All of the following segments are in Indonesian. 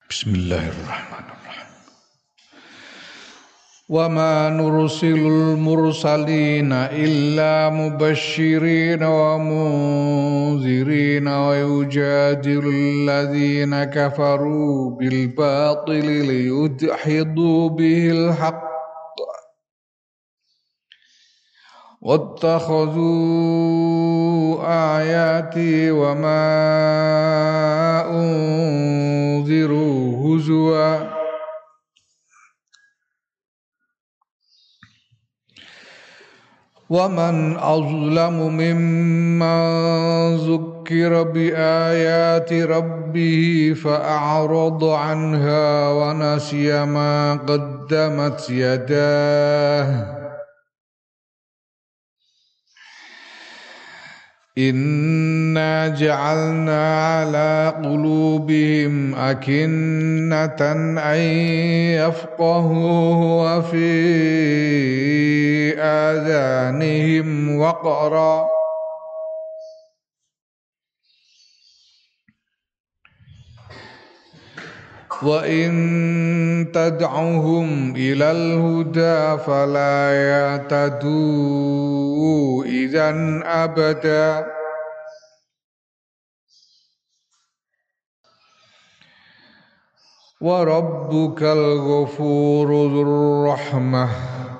Bismillahirrahmanirrahim. Wa ma nursilul mursalina illa mubashshirina wa munzirina wa yujadilul ladzina kafaru bil batili liyudhidu bihil haqq wattakhadhu ayati wa ma unziru huzwa wa man azlamu mimman zukkira bi ayati rabbih fa'arada anha wa nasiya ma qaddamat yadah Inna ja'alna ala qulubihim akinnatan an yafqahuhu wa fi adhanihim waqra wa in tad'uhum ilal huda fala yatadu idzan abada wa rabbukal ghafurur dzur rahmah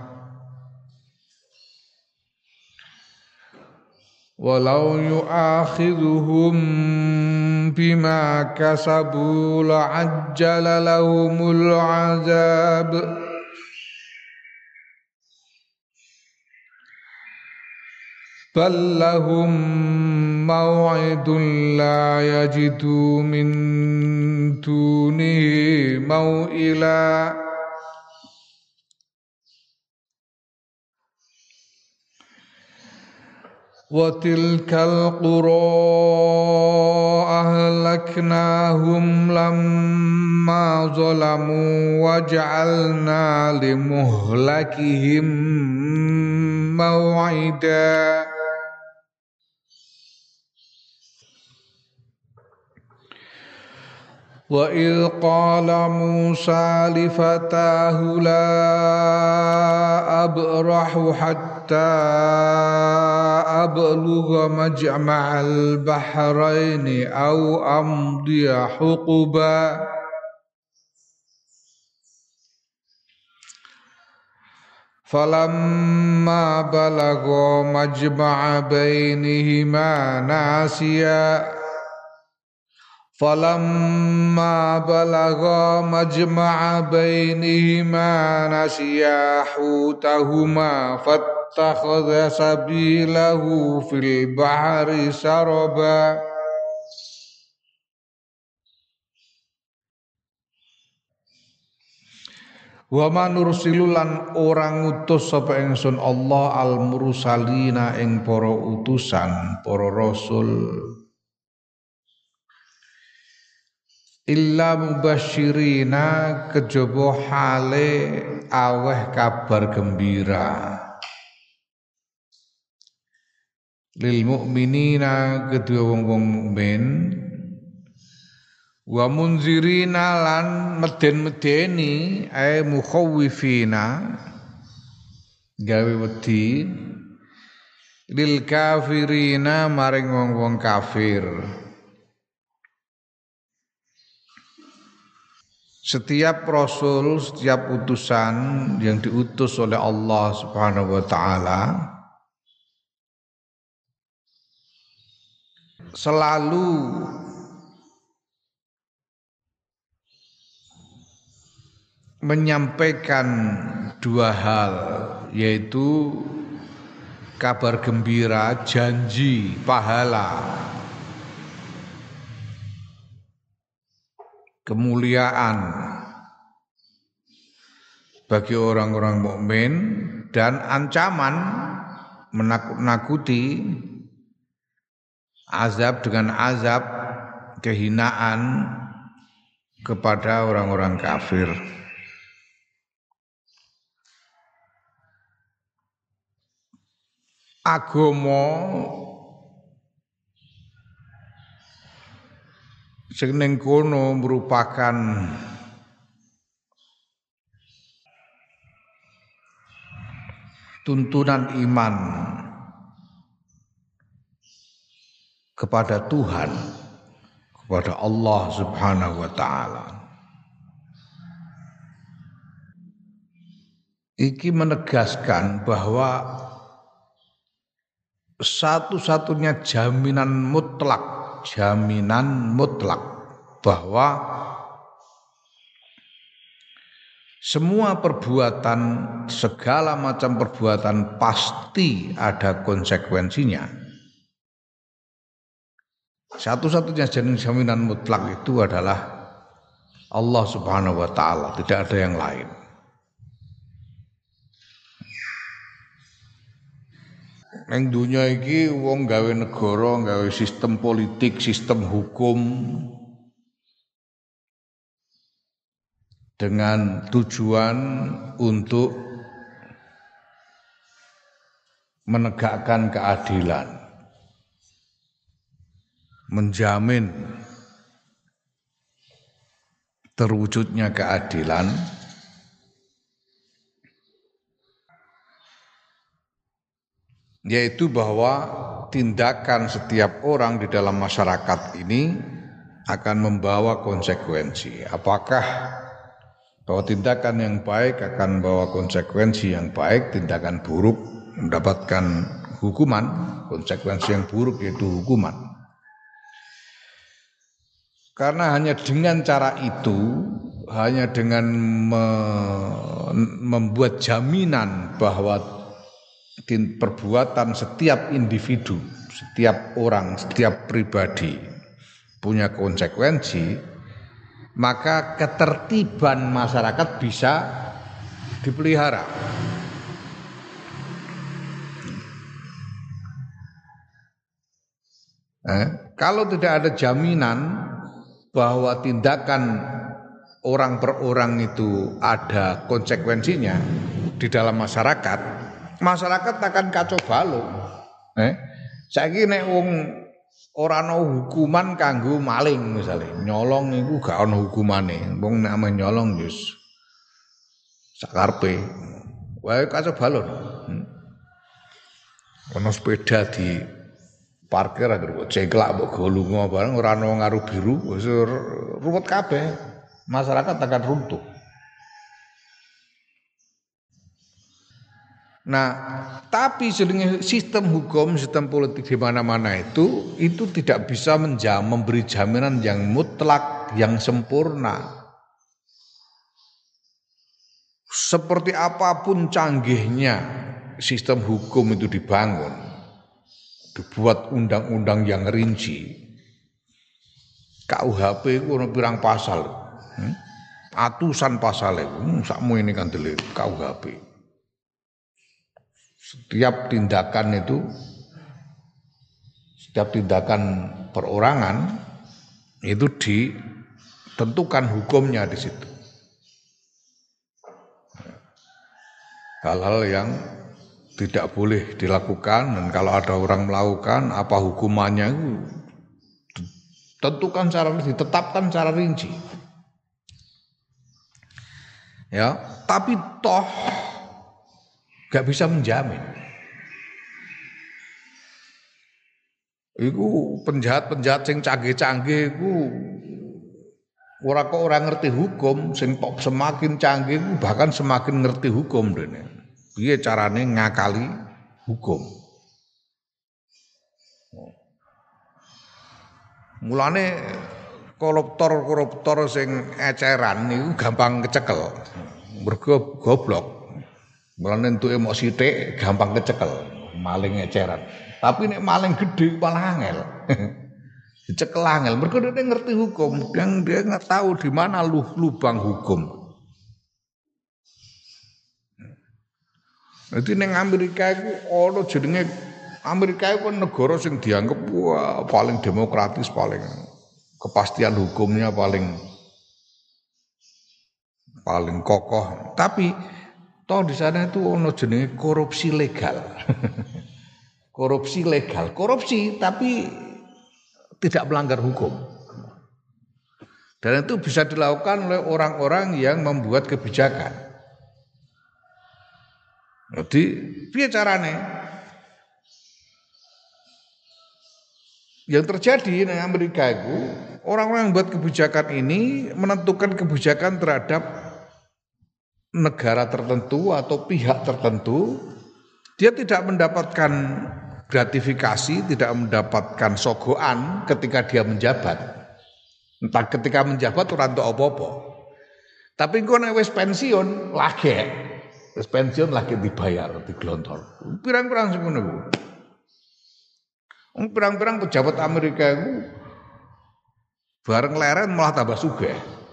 walau yu'akhidhuhum bima kasabu la'ajjala lahumul azab bal lahum maw'idun la yajidu min dunihi maw'ila wa tilkal qura ahlaknahum lamma zalamu wa ja'alna limuhlakihim maw'ida wa idh qala Musa li fatahu la abrahu hatta ablugha majma'al bahraini aw amdiya huquba falamma balagha majma'a bainihima nasiya falamma balagha majma'a bainihima nasiya hutahuma fattakhadha sabilahu fil bahri saraba wa manursilulan orang utus sapa ingsun Allah al mursalina ing para utusan para rasul illa mubasyirina kejaba hale aweh kabar gembira lil mukminina kedua wong-wong mukmin wa munzirina lan meden-medeni ay mukhawifina gawe wedi lil kafirina maring wong-wong kafir. Setiap rasul, setiap utusan yang diutus oleh Allah Subhanahu wa taala selalu menyampaikan dua hal, yaitu kabar gembira, janji pahala, kemuliaan bagi orang-orang mukmin dan ancaman menakut-nakuti azab dengan azab kehinaan kepada orang-orang kafir. Agama Sing ning kono merupakan tuntunan iman kepada Tuhan, kepada Allah Subhanahu wa taala. Iki menegaskan bahwa satu-satunya jaminan mutlak bahwa semua perbuatan, segala macam perbuatan pasti ada konsekuensinya. Satu-satunya jaminan mutlak itu adalah Allah Subhanahu wa taala, tidak ada yang lain. Ning dunya iki wong gawe negara, gawe sistem politik, sistem hukum dengan tujuan untuk menegakkan keadilan, menjamin terwujudnya keadilan, yaitu bahwa tindakan setiap orang di dalam masyarakat ini akan membawa konsekuensi. Apakah bahwa tindakan yang baik akan membawa konsekuensi yang baik, tindakan buruk mendapatkan hukuman, konsekuensi yang buruk yaitu hukuman. Karena hanya dengan cara itu, hanya dengan membuat jaminan bahwa perbuatan setiap individu, setiap orang, setiap pribadi punya konsekuensi, maka ketertiban masyarakat bisa dipelihara. Kalau tidak ada jaminan bahwa tindakan orang per orang itu ada konsekuensinya di dalam masyarakat, masyarakat akan kacau balau. Saiki nek wong ora ana hukuman kanggo maling misalnya, nyolong iku gak ana hukumane. Wong nek ame nyolong wis sakarepe. Wae kacau balau. Ana sepeda di parkir agar ceklak mbok go lunga bareng ora ana ngaru biru wis ruwet kabeh. Masyarakat akan runtuh. Nah, tapi sistem hukum, sistem politik di mana-mana itu tidak bisa memberi jaminan yang mutlak, yang sempurna. Seperti apapun canggihnya sistem hukum itu dibangun, dibuat undang-undang yang rinci. KUHP itu ono pirang pasal, atusan pasal itu, sakmu ini kan dilihat KUHP. Setiap tindakan perorangan itu ditentukan hukumnya di situ. Hal-hal yang tidak boleh dilakukan, dan kalau ada orang melakukan apa hukumannya itu ditetapkan secara rinci. Ya, tapi toh gak bisa menjamin. Iku penjahat-penjahat sing canggih-canggih iku ora kok ora ngerti hukum, sing semakin canggih iku bahkan semakin ngerti hukum dene. Piye carane ngakali hukum. Mulane koruptor sing eceran niku gampang kecekel. Mergo goblok. Mulane entuke mok sithik gampang kecekel, maling eceran. Tapi nek maling gede malah angel. Dicekel angel, mergo dia ngerti hukum, dia nggak tahu di mana lubang hukum. Jadi ning Amerika iku ana jenenge Amerika iku negara sing dianggap paling demokratis, paling kepastian hukumnya paling kokoh. Tapi toh di sana itu ono jenenge korupsi legal. Korupsi legal, korupsi tapi tidak melanggar hukum. Dan itu bisa dilakukan oleh orang-orang yang membuat kebijakan. Jadi, piye carane? Yang terjadi di Amerika itu, orang-orang yang membuat kebijakan ini menentukan kebijakan terhadap negara tertentu atau pihak tertentu. Dia tidak mendapatkan gratifikasi, tidak mendapatkan sogoan ketika dia menjabat. Entah ketika menjabat ora entuk apa-apa. Tapi engko nek wis pensiun lagi. Wis pensiun lagi dibayar, diglontor. Pirang-pirang sing ngono iku. Pirang-pirang pejabat Amerika itu bareng leren malah tambah sugih.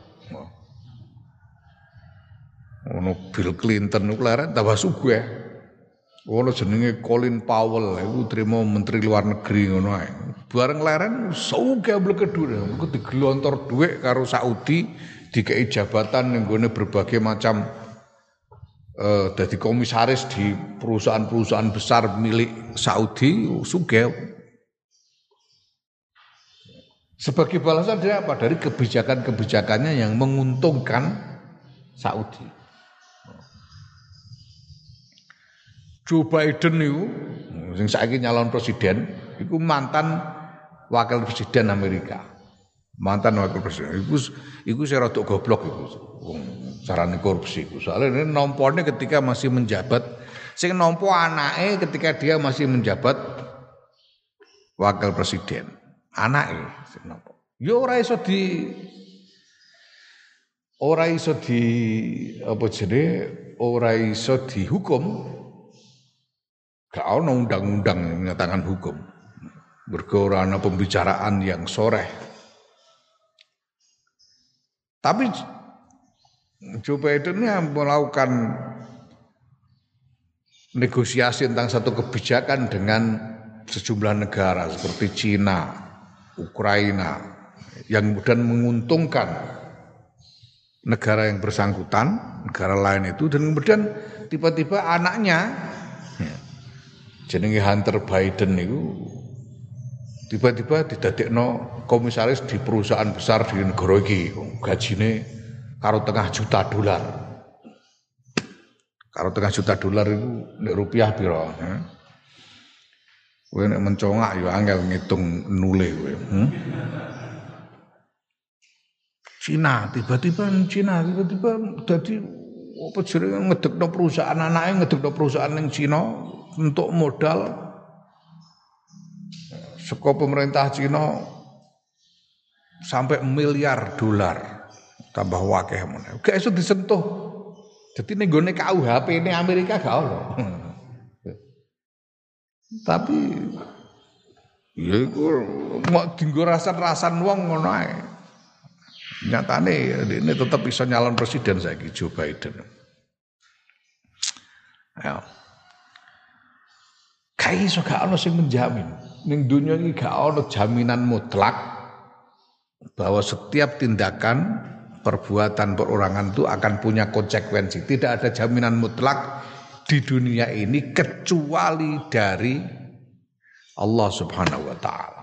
Ono Bill Clinton iku leren tambah sugih. Ono jenenge Colin Powell iku trimo menteri luar negeri ngono ae. Bareng leren sugih blekedur. Iku diglontor dhuwit karo Saudi dikei jabatan ning gone berbagai macam dadi komisaris di perusahaan-perusahaan besar milik Saudi sugih. Sebagai balasan dia apa? Dari kebijakan-kebijakannya yang menguntungkan Saudi. Joe Biden itu, yang saiki nyalon presiden, itu mantan wakil presiden Amerika. Mantan wakil presiden. Iku saya rada goblok itu. Carane korupsi itu. Soalnya ini nompornya ketika masih menjabat, sing nompo anake ketika dia masih menjabat wakil presiden. Anake sing nompo. Yo ora iso dihukum. Gak ada undang-undang yang menyatakan hukum. Mergo ora ana pembicaraan yang soreh. Tapi Joe Biden ini melakukan negosiasi tentang satu kebijakan dengan sejumlah negara seperti Cina, Ukraina, yang kemudian menguntungkan negara yang bersangkutan, negara lain itu, dan kemudian tiba-tiba anaknya jenenge Hunter Biden itu tiba-tiba didadekno komisaris di perusahaan besar di negara iki, gajine karo $0,5 juta. Karo $0,5 juta itu nek rupiah piro? Kowe nek mencongak ya angel ngitung nule kowe. Cina tiba-tiba dadi apa jenenge ngedekno perusahaan anake ngedekno perusahaan ning Cina untuk modal saka pemerintah Cina sampai $1 miliar tambah wakeh meneh. Gak iso disentuh. Dadi ning gone KUHP ini Amerika gak ono. Tapi ya iku mau dienggo rasan-rasan wong ngono ae. Nyatane ini tetap bisa nyalon presiden saiki Joe Biden. Ya. Kayak iso gak ono sing menjamin. Ning dunia iki gak ono jaminan mutlak bahwa setiap tindakan perbuatan perorangan itu akan punya konsekuensi. Tidak ada jaminan mutlak di dunia ini kecuali dari Allah Subhanahu wa taala.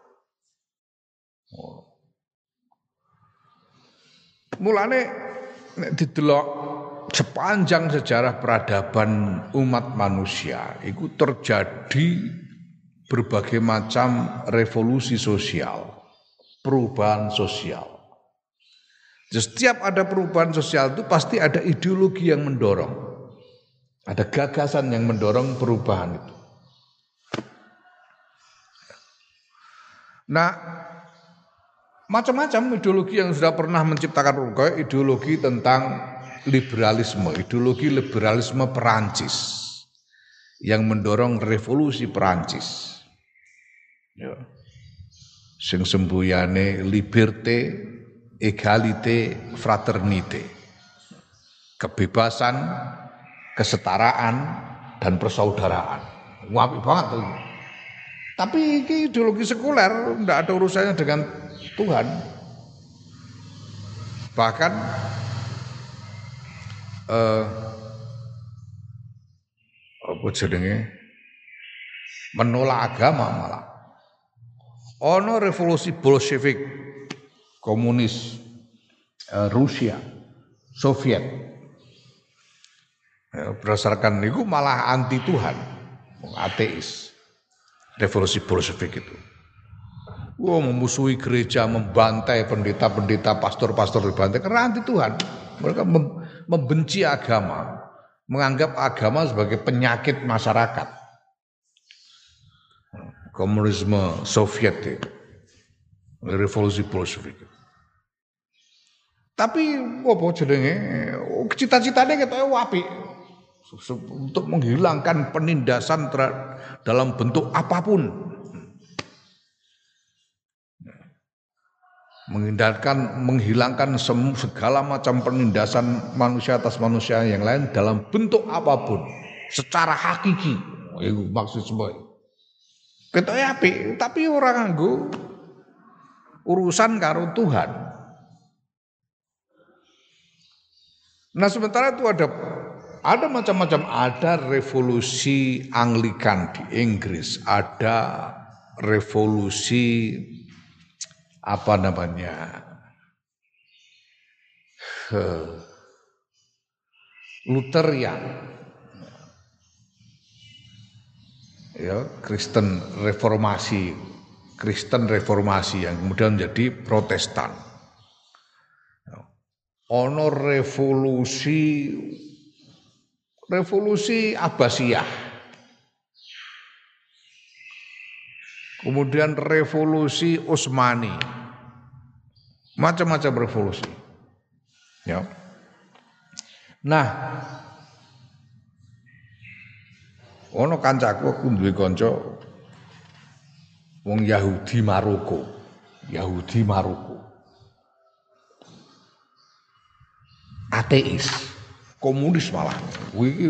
Mulane nek didelok sepanjang sejarah peradaban umat manusia itu terjadi berbagai macam revolusi sosial, perubahan sosial. Setiap ada perubahan sosial itu pasti ada ideologi yang mendorong. Ada gagasan yang mendorong perubahan itu. Nah, macam-macam ideologi yang sudah pernah menciptakan perubahan, ideologi tentang liberalisme Perancis yang mendorong revolusi Perancis. Ya. Sing sembuyane liberté, égalité, fraternité. Kebebasan, kesetaraan dan persaudaraan. Apik banget tuh. Tapi ini ideologi sekuler, tidak ada urusannya dengan Tuhan. Bahkan apa jenenge menolak agama malah. Ono revolusi Bolshevik, komunis Rusia, Soviet. Ya, berdasarkan itu malah anti Tuhan, ateis. Revolusi Bolshevik itu. Memusuhi gereja, membantai pendeta-pendeta, pastor-pastor dibantai karena anti Tuhan. Mereka membenci agama, menganggap agama sebagai penyakit masyarakat. Komunisme Soviet itu, revolusi Bolshevik. Tapi apa jenenge? Cita-citanya kita apik untuk menghilangkan penindasan dalam bentuk apapun. Menghilangkan segala macam penindasan manusia atas manusia yang lain dalam bentuk apapun secara hakiki. Itu maksud semua. Kita apik, tapi orang nganggo urusan karo Tuhan. Nah, sementara itu ada macam-macam, ada revolusi Anglikan di Inggris, ada revolusi apa namanya Lutherian, ya Kristen reformasi yang kemudian menjadi Protestan. Ono revolusi Abbasiyah, kemudian revolusi Utsmani, macam-macam revolusi. Ya. Nah, ono kancaku, aku duwe kanca wong Yahudi Maroko. Ateis, komunis malah. Iki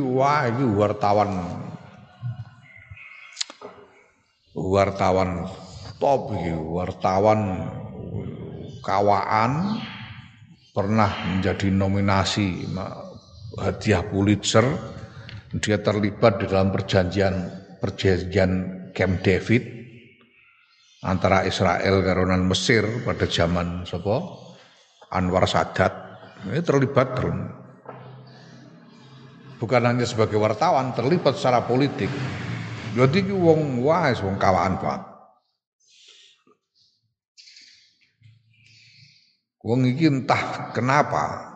wartawan top iki, wartawan kawaan, pernah menjadi nominasi hadiah Pulitzer. Dia terlibat di dalam perjanjian Camp David antara Israel karo Mesir pada zaman Anwar Sadat. Ini terlibat bukan hanya sebagai wartawan, terlibat secara politik. Jadi wong kawaan banget. Wong iki entah kenapa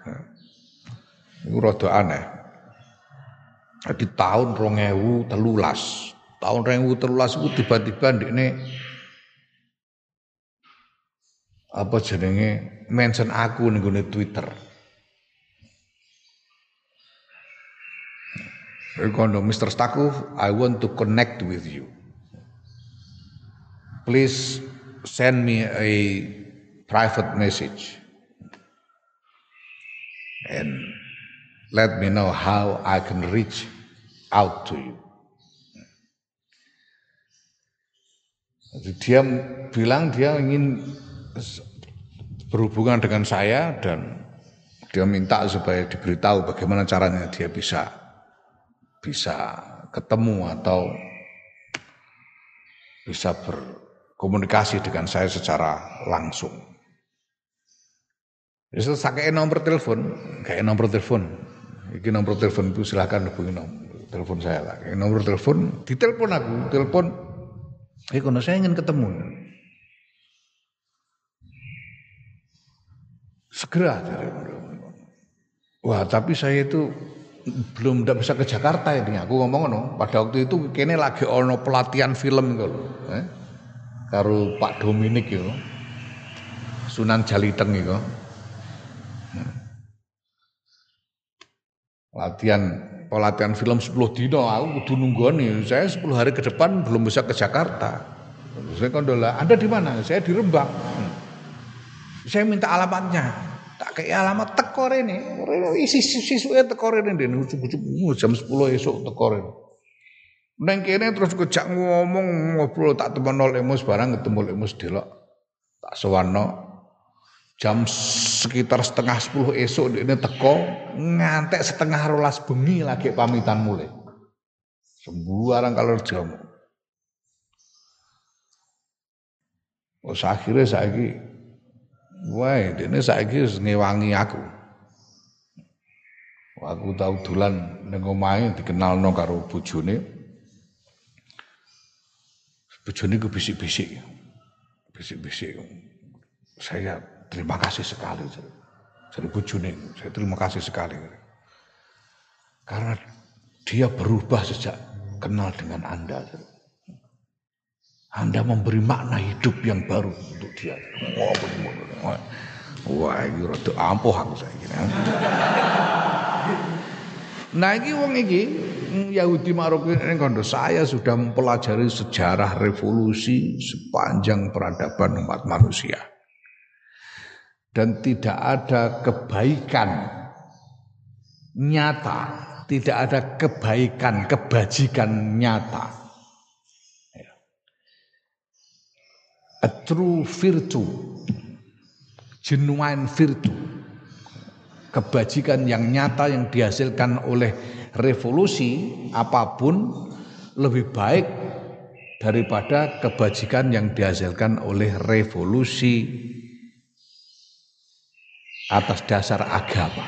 itu rada aneh. Di tahun 2013 itu tiba-tiba ndekne apa jenenge mention aku ning gone Twitter. Rekondo Mr. Stakuf, I want to connect with you. Please send me a private message and let me know how I can reach out to you. Jadi dia bilang dia ingin berhubungan dengan saya dan dia minta supaya diberitahu bagaimana caranya dia bisa ketemu atau bisa berkomunikasi dengan saya secara langsung. Jadi saya nomor telepon. Iki nomor telepon itu silakan hubungi telepon saya lah. Nomor telepon, ditelepon aku, kalau saya ingin ketemu. Segera. Wah, tapi saya itu belum bisa ke Jakarta ini. Aku ngomong pada waktu itu kene lagi ono pelatihan film gitu loh. Karo Pak Dominik itu. Sunan Jaliteng itu. Pelatihan film 10 dino, aku kudu nunggoni. Saya 10 hari ke depan belum bisa ke Jakarta. Saya kondola, Anda di mana? Saya di Rembang. Saya minta alamatnya. Tak kayak alamat teko rene. Sisuke teko rene den jam 10 esuk teko rene. Neng kene terus kejak ngobrol tak temen Lemus barang ketemu Lemus delok. Tak sowanno jam sekitar 9:30 esuk ini teko ngantek 11:30 bengi lagi pamitan mulai. Sembarang kalau jamu. Akhirnya saiki Wah, dene saiki wis ngewangi aku. Aku tau dolan ning omahe dikenalno karo bojone. Bojone ku bisik-bisik. Bisik-bisik. Saya terima kasih sekali. Jadi bojone, saya terima kasih sekali. Karena dia berubah sejak kenal dengan Anda. Anda memberi makna hidup yang baru untuk dia. Wah, ini rada ampuh aku saiki. Nah, iki wong iki Yahudi Maroko ini kondo saya sudah mempelajari sejarah revolusi sepanjang peradaban umat manusia. Dan tidak ada kebaikan nyata, tidak ada kebaikan, kebajikan nyata. A true virtue, genuine virtue, kebajikan yang nyata yang dihasilkan oleh revolusi apapun lebih baik daripada kebajikan yang dihasilkan oleh revolusi atas dasar agama.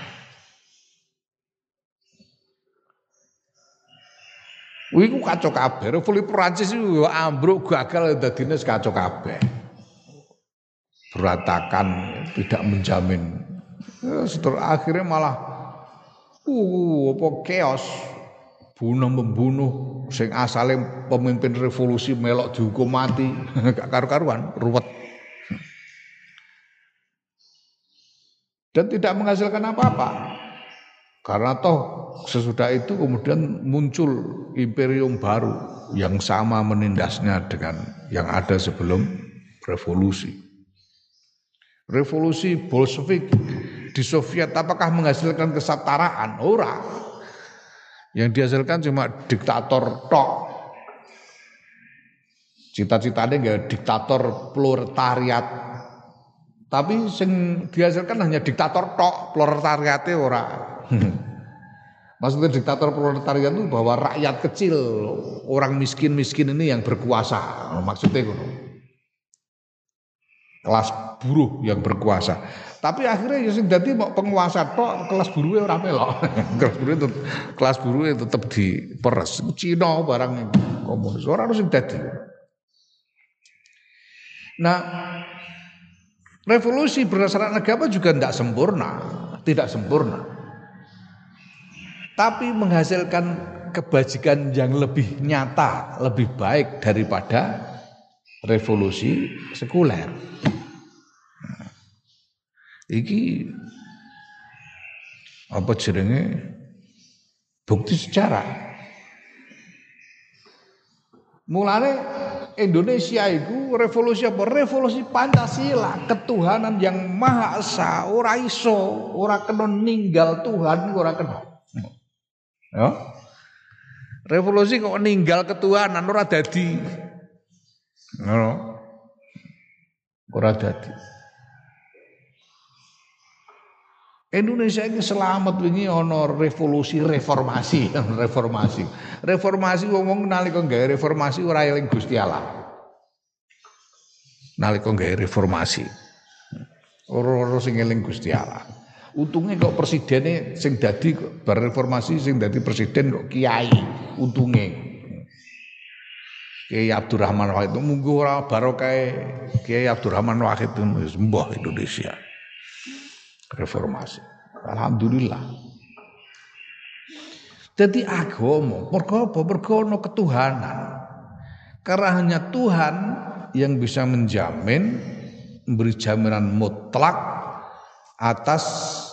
Iku kacau kabeh, revolusi Prancis itu ambruk gagal dadine kacau kabeh. Berantakan, tidak menjamin. Setelah akhirnya malah apa chaos, bunuh-membunuh sing asale pemimpin revolusi melok dihukum mati, gak karu-karuan, ruwet. Dan tidak menghasilkan apa-apa. Karena toh sesudah itu kemudian muncul imperium baru yang sama menindasnya dengan yang ada sebelum revolusi. Revolusi Bolshevik di Soviet apakah menghasilkan kesetaraan? Ora. Yang dihasilkan cuma diktator tok. Cita-citanya enggak diktator proletariat. Tapi sing dihasilkan hanya diktator tok, proletariatnya ora. Maksudnya diktator proletariat itu bahwa rakyat kecil, orang miskin-miskin ini yang berkuasa. Maksudnya itu kelas buruh yang berkuasa. Tapi akhirnya ya sing dadi penguasa tok, kelas buruhe ora melok. kelas buruhe tetap diperes. Cina barang komunis ora harus sing dadi. Nah, revolusi berdasarkan agama juga tidak sempurna. Tapi menghasilkan kebajikan yang lebih nyata, lebih baik daripada revolusi sekuler. Iki apa jenenge bukti sejarah. Mulane Indonesia itu revolusi apa? Revolusi Pancasila, ketuhanan yang Maha Esa, ora iso, ora kena ninggal Tuhan, ora kena. Ya. Revolusi kok ninggal ketuhanan ora dadi. Ora dadi. Indonesia ini selamat wingi ana revolusi reformasi. Reformasi wong nalika gawe reformasi ora eling Gusti Allah. Nalika gawe reformasi. Ora sing eling Gusti Allah. Untungnya kok presidennya sing dadi bar reformasi sing dadi presiden kok kiai untungnya. Kiai Abdurrahman Wahid itu munggo ora barokah Kiai Abdurrahman Wahid itu mbah Indonesia. Reformasi. Alhamdulillah. Jadi agama mergo apa? Mergo ana ketuhanan. Karena hanya Tuhan yang bisa menjamin memberi jaminan mutlak atas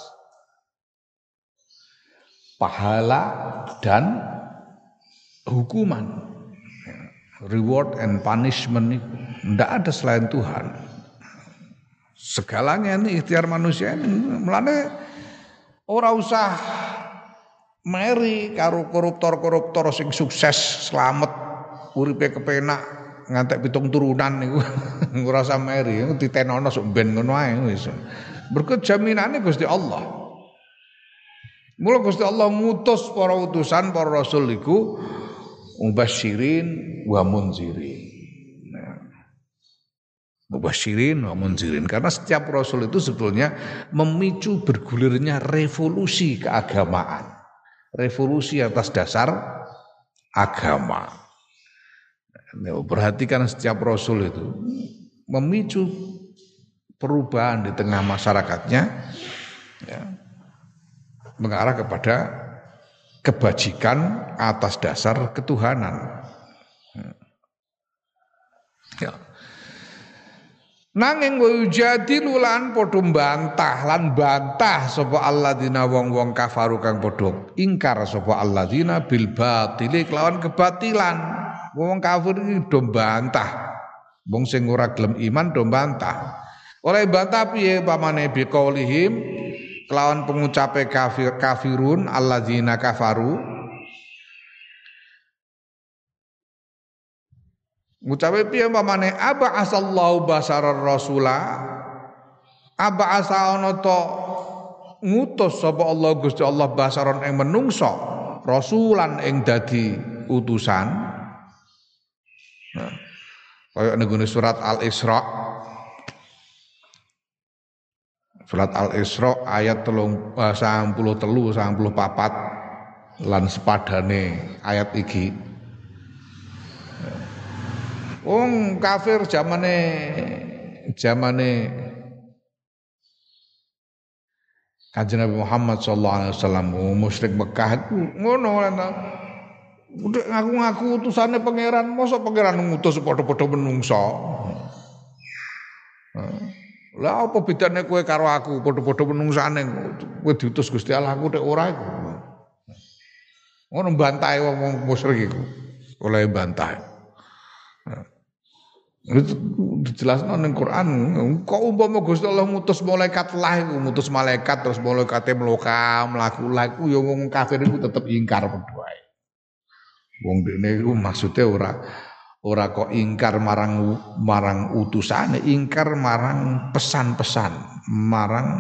pahala dan hukuman, reward and punishment itu tidak ada selain Tuhan. Segalanya ini ikhtiar manusia ini, mulane ora usah meri karo koruptor sing sukses selamat uripe kepenak ngantek 7 turunan niku ora usah meri ditenono sok ben ngono ae wis. Berkat jaminane Gusti Allah. Mula Gusti Allah ngutus para utusan, para rasul iku mubasyirin wa munzirin. mubasyirin wa munzirin. Karena setiap rasul itu sebetulnya memicu bergulirnya revolusi keagamaan. Revolusi atas dasar agama. Perhatikan setiap rasul itu memicu perubahan di tengah masyarakatnya, ya, mengarah kepada kebajikan atas dasar ketuhanan. Ya. Nanging wujadilu lan padha bantah sapa alladzina wong-wong kafaru kang padha ingkar sapa alladzina bil batili kelawan kebatilan. Wong kafir iki do bantah. Wong sing ora gelem iman do bantah. Oleh bantah piye pamane biqaulihim kelawan pengucape kafirun alladzina kafaru. Ngucape piye pamane aba asallahu basarar rasula aba asa ana to ngutus sapa Allah Gusti Allah basaron ing menungso rasulan ing dadi utusan. Nah, kaya ning surat Al-Isra. Surat Al-Isra ayat 93 94 lan sepadane ayat iki. Wong kafir zamane Kanjeng Nabi Muhammad sallallahu alaihi wasallam, musyrik Mekah iku ngono ana. Udah ngaku-ngaku utusane pangeran, mosok pangeran ngutus padha-padha menungso. Lah apa bedane kowe karo aku padha-padha menungsane kowe diutus Gusti Allah aku nek ora iku. Ngono bantahe wong musyrik iku. Oleh bantahe. Itu dijelasno ning Quran. Kok umpama Gusti Allah ngutus malaikat lah iku, ngutus malaikat terus malaikate mlaku laku ya wong kafir iku tetep ingkar padha wae. Wong dene iku maksude ora kok ingkar marang utusane, ingkar marang pesan-pesan, marang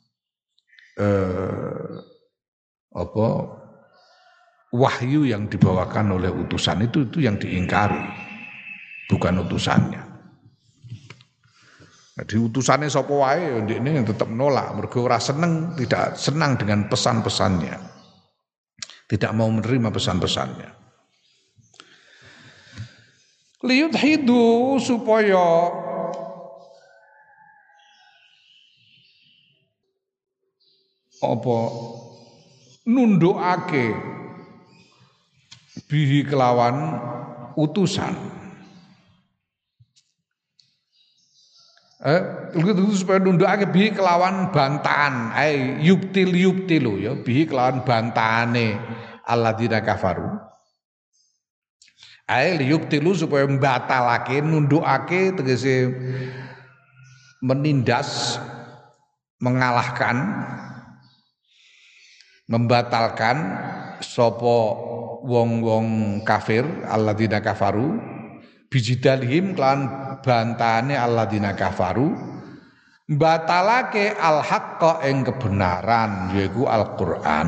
wahyu yang dibawakan oleh utusan itu yang diingkari, bukan utusannya. Jadi utusannya sapa wae ndekne tetep nolak, mergo ora seneng, tidak senang dengan pesan-pesannya. Tidak mau menerima pesan-pesannya. Liyudhidu supaya nundukake bihi kelawan utusan. Supaya nundukake bihi kelawan bantahan, yubtilu ya, bihi kelawan bantahane alladzina kafaru. Yubtilu supaya mbatalake, nundukake tegese menindas, mengalahkan, membatalkan sapa wong-wong kafir alladzina kafaru bijidalihim lan bantahane alladzina kafaru batalake al-haqqa ing kebenaran yaiku Al-Qur'an.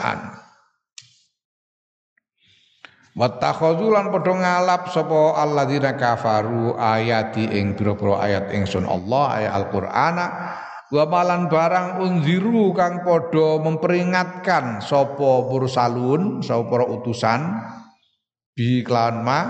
Wattakhadhu lan padha ngalap sapa alladzina kafaru ayati ing pira-pira ayat ingsun Allah ayat Al-Qur'ana wa malan barang unziru kang padha memperingatkan sapa mursalun sapa para utusan bi kelawan ma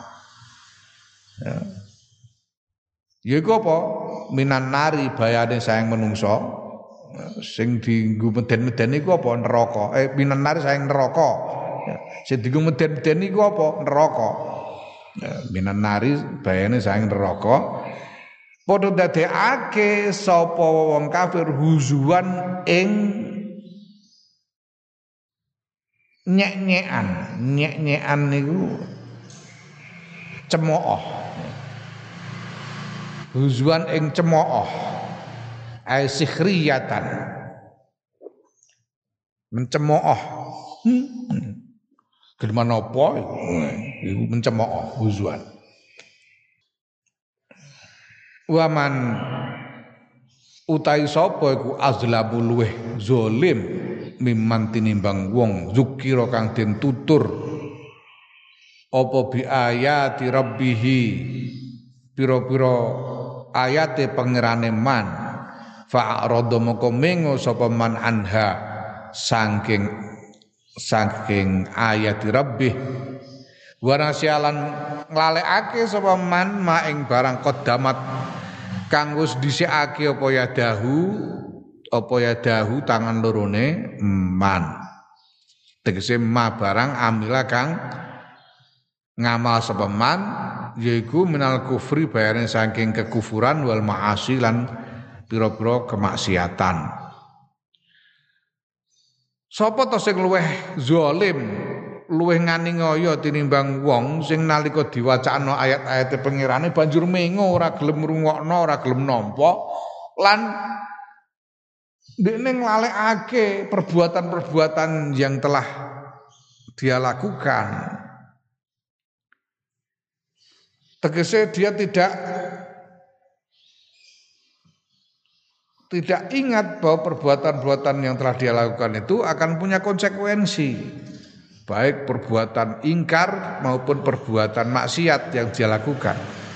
yaiku apa minan nari bayane sayang menungso sing dienggo meden-meden iku apa neraka minan nari sayang neraka sing dienggo meden-meden iku apa neraka minan nari bayane sayang neraka padha dadekake sapa wong kafir huzuan ing nyek-nyekan niku cemooh huzuan ing cemooh sikhriyatan mencemooh gimana apa iku mencemooh huzuan waman utai sapa iku azlamu luweh zalim mimman tinimbang wong zukira kang den tutur apa bi ayati rabbih pira-pira ayate pangerane man fa'arada moko mengo sapa man anha saking ayat rabbih warasialan nglalekake sapa man maing barang qaddamat kang wis dhisikake apa ya dahu tangan lorone man tegese ma barang amila kang ngamal sapa man yaiku minal kufri bayane saking kekufuran wal ma'asi lan pira-pira kemaksiatan. Sapa to sing luweh zalim, luweh ngani ngoyo tinimbang wong sing nalika diwacana ayat-ayate pengirane banjur mengo ora gelem ngrungokno, ora gelem nampa lan dekne nglalekake perbuatan-perbuatan yang telah dia lakukan. Tegese dia tidak ingat bahwa perbuatan-perbuatan yang telah dia lakukan itu akan punya konsekuensi, baik perbuatan ingkar maupun perbuatan maksiat yang dia lakukan.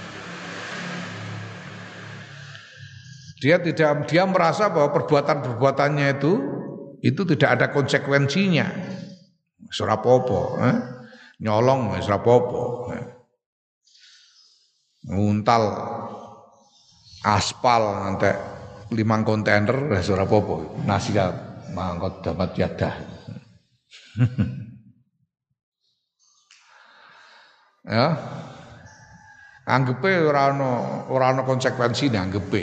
Dia merasa bahwa perbuatan-perbuatannya itu tidak ada konsekuensinya. Ora apa-apa, nyolong wis ora apa-apa. Nguntal aspal nanti 5 kontainer wis ora apa-apa. Nasi mangkot dapat yadah. Ya. Anggepe ora ana konsekuensine anggepe.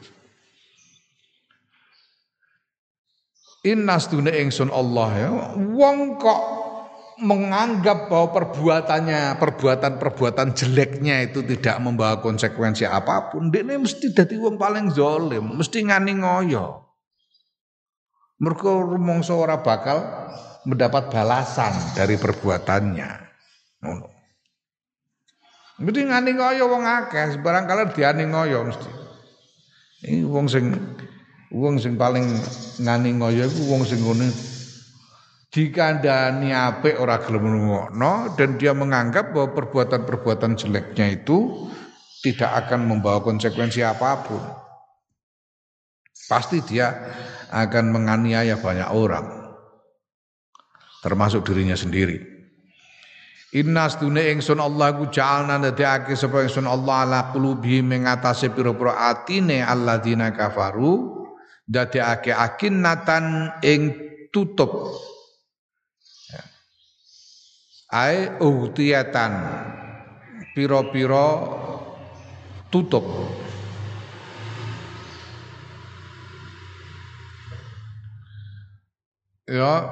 Innas dune ingsun Allah ya. Wong kok menganggap bahwa perbuatan jeleknya itu tidak membawa konsekuensi apapun, dekne mesti dadi wong paling zalim, mesti ngani ngoyo. Mergo rumangsa ora bakal mendapat balasan dari perbuatannya. Ngono. Mesti ngani ngoyo wong akeh, barangkali diani ngoyo mesti. Iki wong sing paling ngani ngoyo iku wong sing ngene dikandani apik ora gelem ngrungokno dan dia menganggap bahwa perbuatan-perbuatan jeleknya itu tidak akan membawa konsekuensi apapun. Pasti dia akan menganiaya banyak orang, termasuk dirinya sendiri. Innas dune ingsun Allah ku ja'alna ndadekake sapa ingsun Allah ala qulubi mengatasi pira-pira atine alladzina kafaru ndadekake akinnatan ing tutup ai uhtiyatan pira-pira tutup ya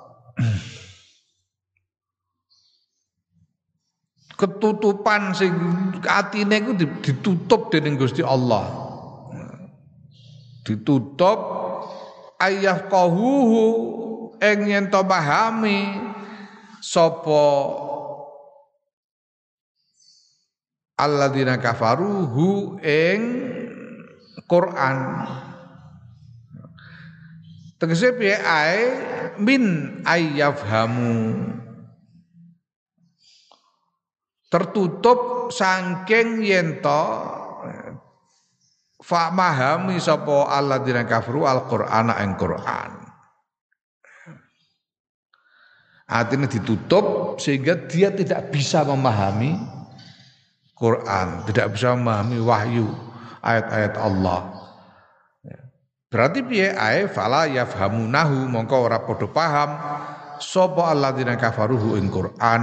ketutupan sing atine iku ditutup dening Gusti Allah, ditutup ayah qahuhu ing yen to pahami sapa alladzina kafaru hu ing Quran. Tegese piye ae min ayyafhamu tertutup saking yen to fa mahami sapa alladzina kafaru al-Qur'ana ing Quran. Artinya ditutup sehingga dia tidak bisa memahami Quran, tidak bisa memahami wahyu ayat-ayat Allah. Berarti piye ae fala yafhamunahu mongko ora padha paham sapa alladzina kafaruhu ing Quran.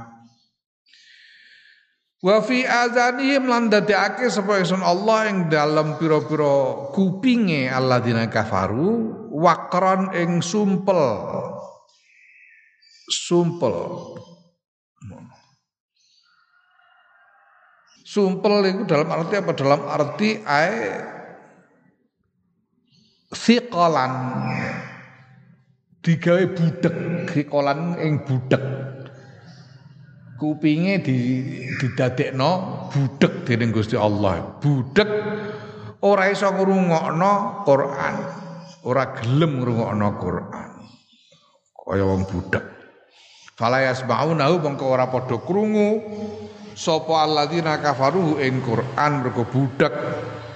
Wa fi azanihim lan dadekake sapa ingsun Allah ing dalem pira-pira kupinge alladzina kafaru waqran ing sumpel itu dalam arti apa? Dalam arti siqalan digawe budek, siqalan ing budek. Kupinge didadekno budek dening Gusti Allah. Budek ora iso ngrungokno Quran, ora gelem ngrungokno Quran. Kaya wong budek. Fala yasma'unahu mongko ora padha krungu sapa alladzina kafaru ing Quran mergo budak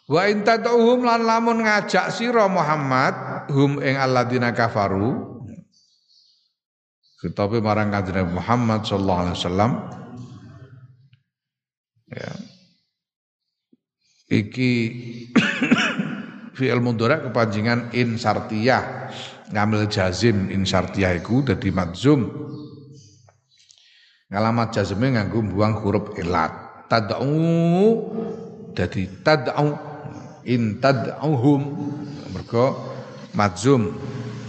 Wa in tad'uhum lan lamun ngajak sira Muhammad hum ing alladzina kafaru khitabe marang Kanjeng Muhammad sallallahu alaihi wasallam ya iki fi'il mudhari kepanjingan in syartiyah ngambil jazim in syartiyah iku dadi madzum ngalamat jazme nganggo buang huruf ilat tad'u dadi tad'u in tad'uhum mergo madzum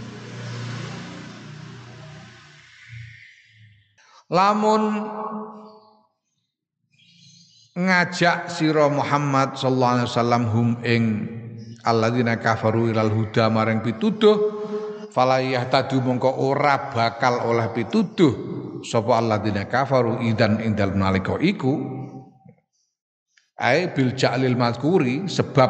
lamun ngajak sira Muhammad sallallahu alaihi wasallam hum ing alladzina kafaru ilal huda maring pituduh falayah tadu mongko ora bakal oleh pituduh sapa alladzina kafaru idan ing dalem nalika iku ai bil ja'lil mazkuri sebab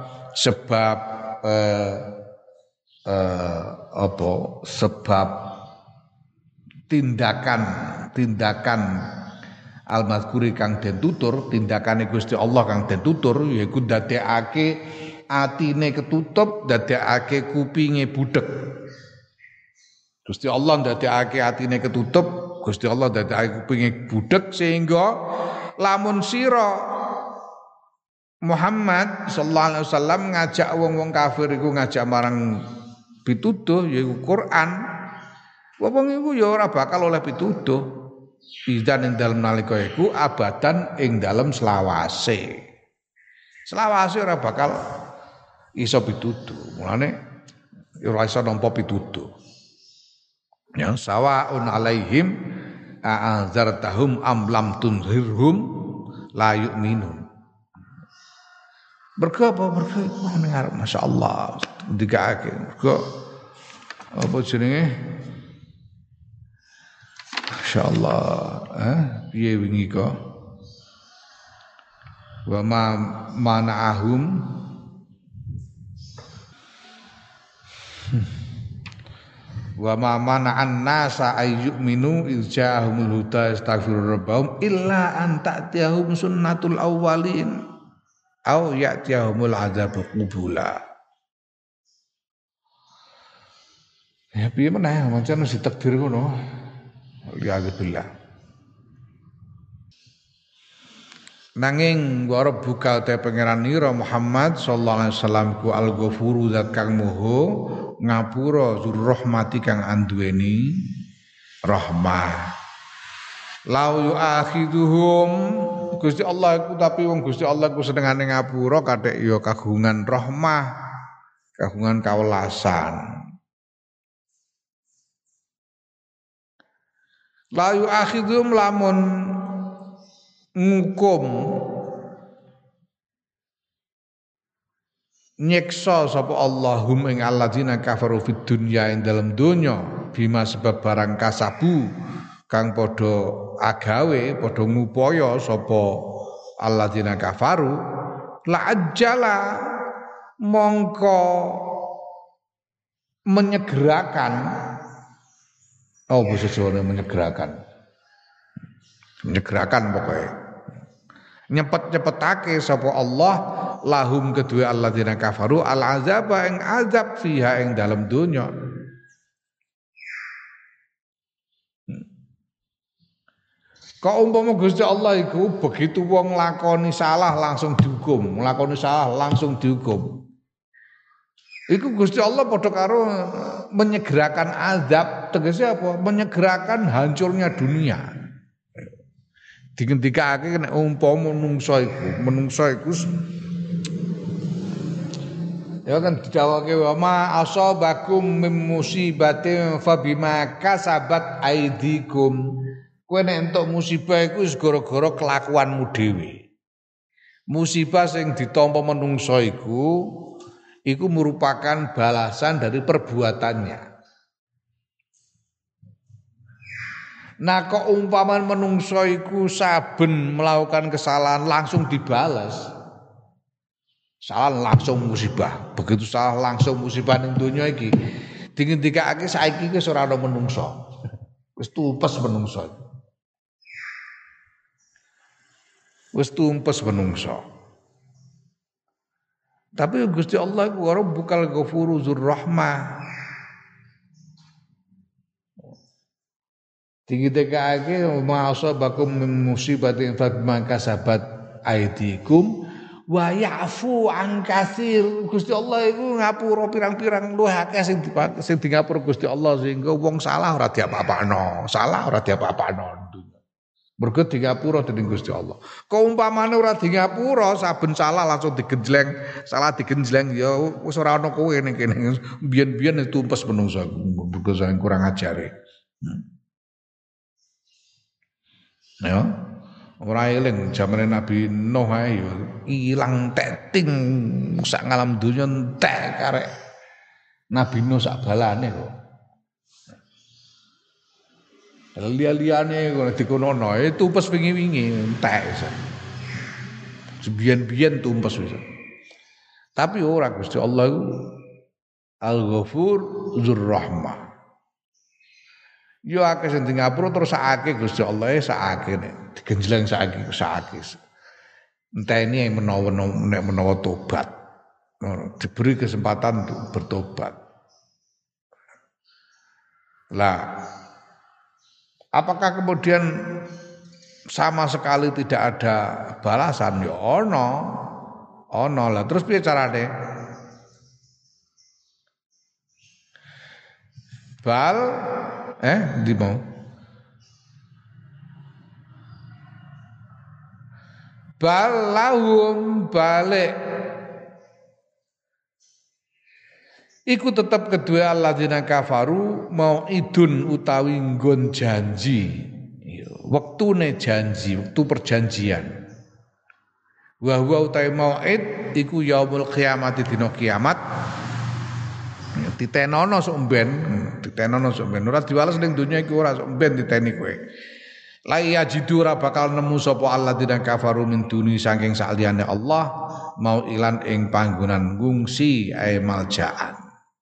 tindakan al-mazkuri kang den tutur tindakane Gusti Allah kang den tutur yaiku ndadekake atine ketutup ndadekake kupinge budhek Gusti Allah ndadekake atine ketutup Gusti Allah ndadekake kupinge budhek sehingga lamun sira Muhammad sallallahu alaihi wasallam ngajak wong-wong kafir iku ngajak marang pituduh yaiku Quran. Wong iku ya ora bakal oleh pituduh. Idan ing dalem nalika iku abadan ing dalem selawase. Selawase ora bakal iso pituduh. Mulane ora iso nampa pituduh. Ya sawaun alaihim a'adzartahum am lam tunzirhum la yu'minun. Mergo apa? Mergo iku ngarep masyaallah dikake. Mergo apa jenenge? Masyaallah, piye wingi kok? Wa ma mana'ahum wa ma mana'an nasa ayyuminu izja'ahumul huda astaghfiru rabbahum illa an ta'tiyahum sunnatul awwalin au ya'tiyahumul adzabu qubula. Ya piye meneh pancen wis ditakdir ngono. Alhamdulillah. Nanging wa rabbuka te pangeran nira Muhammad sallallahu alaihi wasallam ku al-ghafuru zat kang moho ngapura zur rahmati kang anduweni rahmah. Lau yu'akhiduhum Gusti Allah iku tapi wong Gusti Allah iku senengane ngapura kathek ya kagungan rahmah, kagungan kawelasan. Lau yu'akhiduhum lamun ngukum nyiksa sapa Allahum ing alladzina kafaru fid dunya ing dalam donya bima sebab barang kasabu kang padha agawe padha ngupaya sapa alladzina kafaru la ajjala mongko menyegerakan basa Jawa menyegerakan pokoknya nyepet-nyepetake sapa Allah lahum kedua alladzina kafaru al azaba ing azab fiha ing dalam donya. Kok umpama Gusti Allah iku begitu wong lakoni salah langsung dihukum, nglakoni salah langsung dihukum. Iku Gusti Allah padha karo menyegerakan azab, tegese apa? Menyegerakan hancurnya dunia. Digendikake nek umpama menungso iku ya kan didhawuhake wa ma asabakum mim musibatin fa bima kasabat aidikum. Kowe nek entuk musibah iku wis gara-gara kelakuanmu dhewe. Musibah sing ditampa menungso iku merupakan balasan dari perbuatannya. Nah kok umpaman menungso iku saben melakukan kesalahan langsung dibalas. Salah langsung musibah. Begitu salah langsung musibah ning donya iki. Dingendikake saiki wis ora ana menungso. Wis tumpes menungso. Wis tumpes menungso. Tapi Gusti Allah iku Rabbukal Ghafuru Dzur Rahmah. Dikitekake ma'asabakum min musibatin fabima kasabat aidikum wa ya'fu an katsir. Gusti Allah iku ngapura pirang-pirang luwih akeh sing di ngapura Gusti Allah sehingga wong salah ora diapa-apakno, salah ora diapa-apakno. Mergo di ngapura dening Gusti Allah. Kaumpamane ora di ngapura saben salah langsung digenjleng, salah digenjleng ya wis ora ana kowe ning kene. Biyen-biyen tumpes menungso mergo saking kurang ajare. Ya, ora eling zamane Nabi Nuh ae ya ilang teting sak ngalam donya entek karek Nabi Nuh sak balane kok. Liya-liyane kok dikonono tumpes wingi-wingi entek iso. Sebiyen-biyen tumpes wis. Tapi ora Gusti Allah iku Al-Ghafur Dzur Rahmah. Yo akeh sing ngapura terus sakake Gusti Allah sakake nek digenjleng sakake. Enteni menawa tobat. Diberi kesempatan untuk bertobat. Lah apakah kemudian sama sekali tidak ada balasan? Ya ono lah. Terus piye carane? Di mau balahum balik iku tetap kedua alladzina kafaru mau idun utawi nggon janji wektune janji wektu perjanjian wa huwa utawi mauid iku yaumul qiyamati dina kiamat ditenono sok mben ora diwales ning donya iku ora sok mben diteni kowe la yajidu ora bakal nemu sapa alladzina kafaru min duni saking saliyane Allah mau ilan ing panggonan ngungsi ae maljaan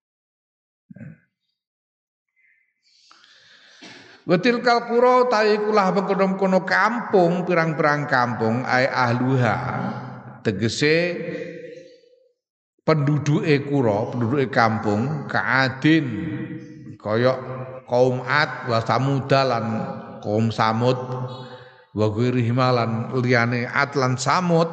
Wetil kalkuro taikulah mengkono-kono kampung pirang-pirang kampung ae ahluha tegese penduduke kampung kaadin kaya kaum Ad wa Samud lan kaum Samud wa ghairihim lan liyane Ad lan Samud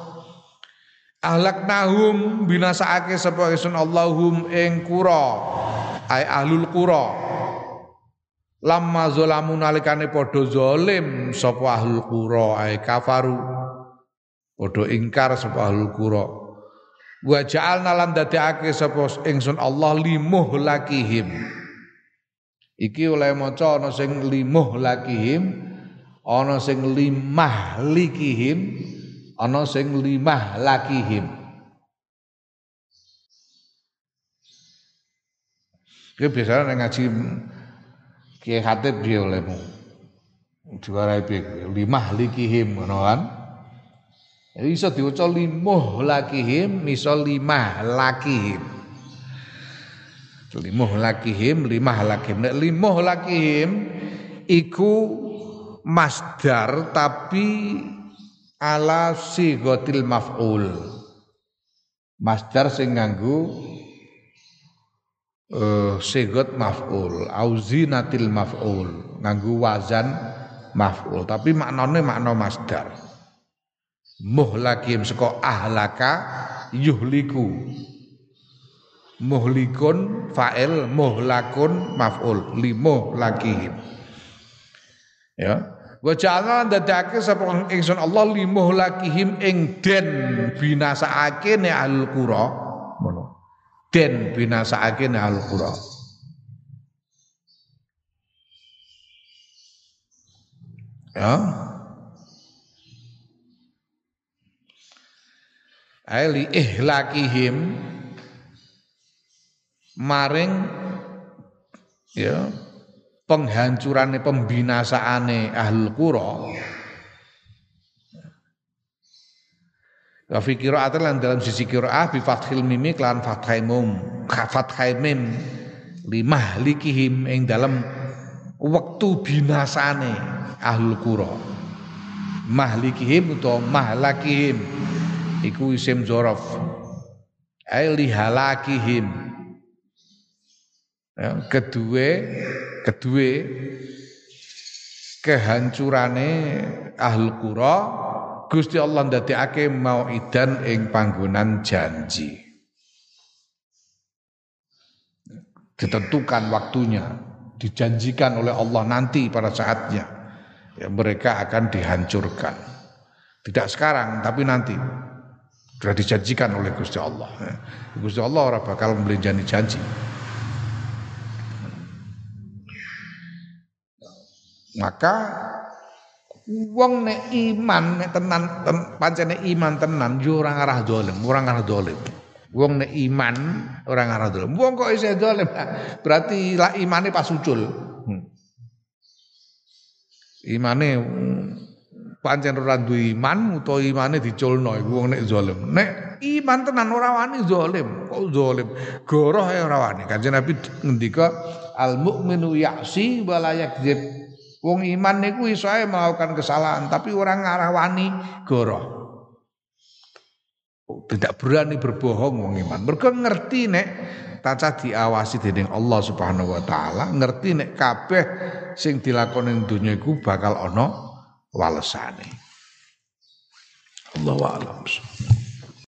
ahlaknahum binasaake sapa ingsun Allahum ing qura ai ahlul qura lamma zalamu nalikane padha zalim sapa ahlul qura ai kafaru padha ingkar sapa ahlul qura wa ja'alna lan dadekake sapa ingsun Allah limuh lakihim iki oleh maca ana sing limuh lakihim ana sing limah likihim ana sing limah lakihim iki biasane nek ngaji Kiai Khatib piye olehmu diwarai piye limah likihim ngono kan iso diwaca limuh lakihim, iso limah lakihim. Limuh lakihim, limah lakihim. Nek limuh lakihim iku masdar tapi ala sighatil maf'ul. Masdar sing nganggo sighat maf'ul, auzinatil maf'ul, nganggo wazan maf'ul, tapi maknane makna masdar. Muhlakim saka ahlaka yuhliku muhlikun fa'il muhlakun maf'ul limuhlakihim ya wa ja'alna dadake sapa ingsun Allah limuhlakihim ing den binasaake ne ahlul qura ngono den binasaake ne ahlul qura ya ali ihlakihim maring ya penghancurane pembinasaane ahlul qura wa fi qira'atin lan dalam sisi qira'ah bi fathil mim lan fathai mim limahlikihim ing dalam wektu binasane ahlul qura mahlikihim utawa mahlakihim iku isim dzaraf ai lihalakihim. Ya, kedue kehancurane ahlul qura Gusti Allah ndadekake mau'idan ing panggonan janji. Ditentukan waktunya, dijanjikan oleh Allah nanti pada saatnya ya, mereka akan dihancurkan. Tidak sekarang tapi nanti. Sudah dijanjikan oleh Gusti Allah. Gusti Allah ora bakal memberi janji. Maka wong nek iman nek tenan pancene iman tenan yo ora ngarah dolim, Wong nek iman ora ngarah dolim. Wong kok isih dolim? Berarti lah imane pas ucul. Imane pancen ora duwe iman utawa imane diculno iku wong nek zalim. Nek iman tenan ora wani zalim. Kok zalim? Goroh ae ora wani. Kanjeng Nabi ngendika al mukminu ya'si wa la yakdzib. Wong iman niku iso ae melakukan kesalahan tapi orang ngarah wani goroh. Tidak berani berbohong wong iman. Mergo ngerti nek tancah diawasi dening Allah Subhanahu wa taala, ngerti nek kabeh sing dilakoni ning donya iku bakal ana walesane. Allahu a'lam.